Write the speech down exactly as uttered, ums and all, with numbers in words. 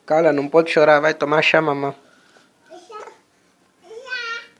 Cala, não pode chorar, vai tomar chá, mamãe.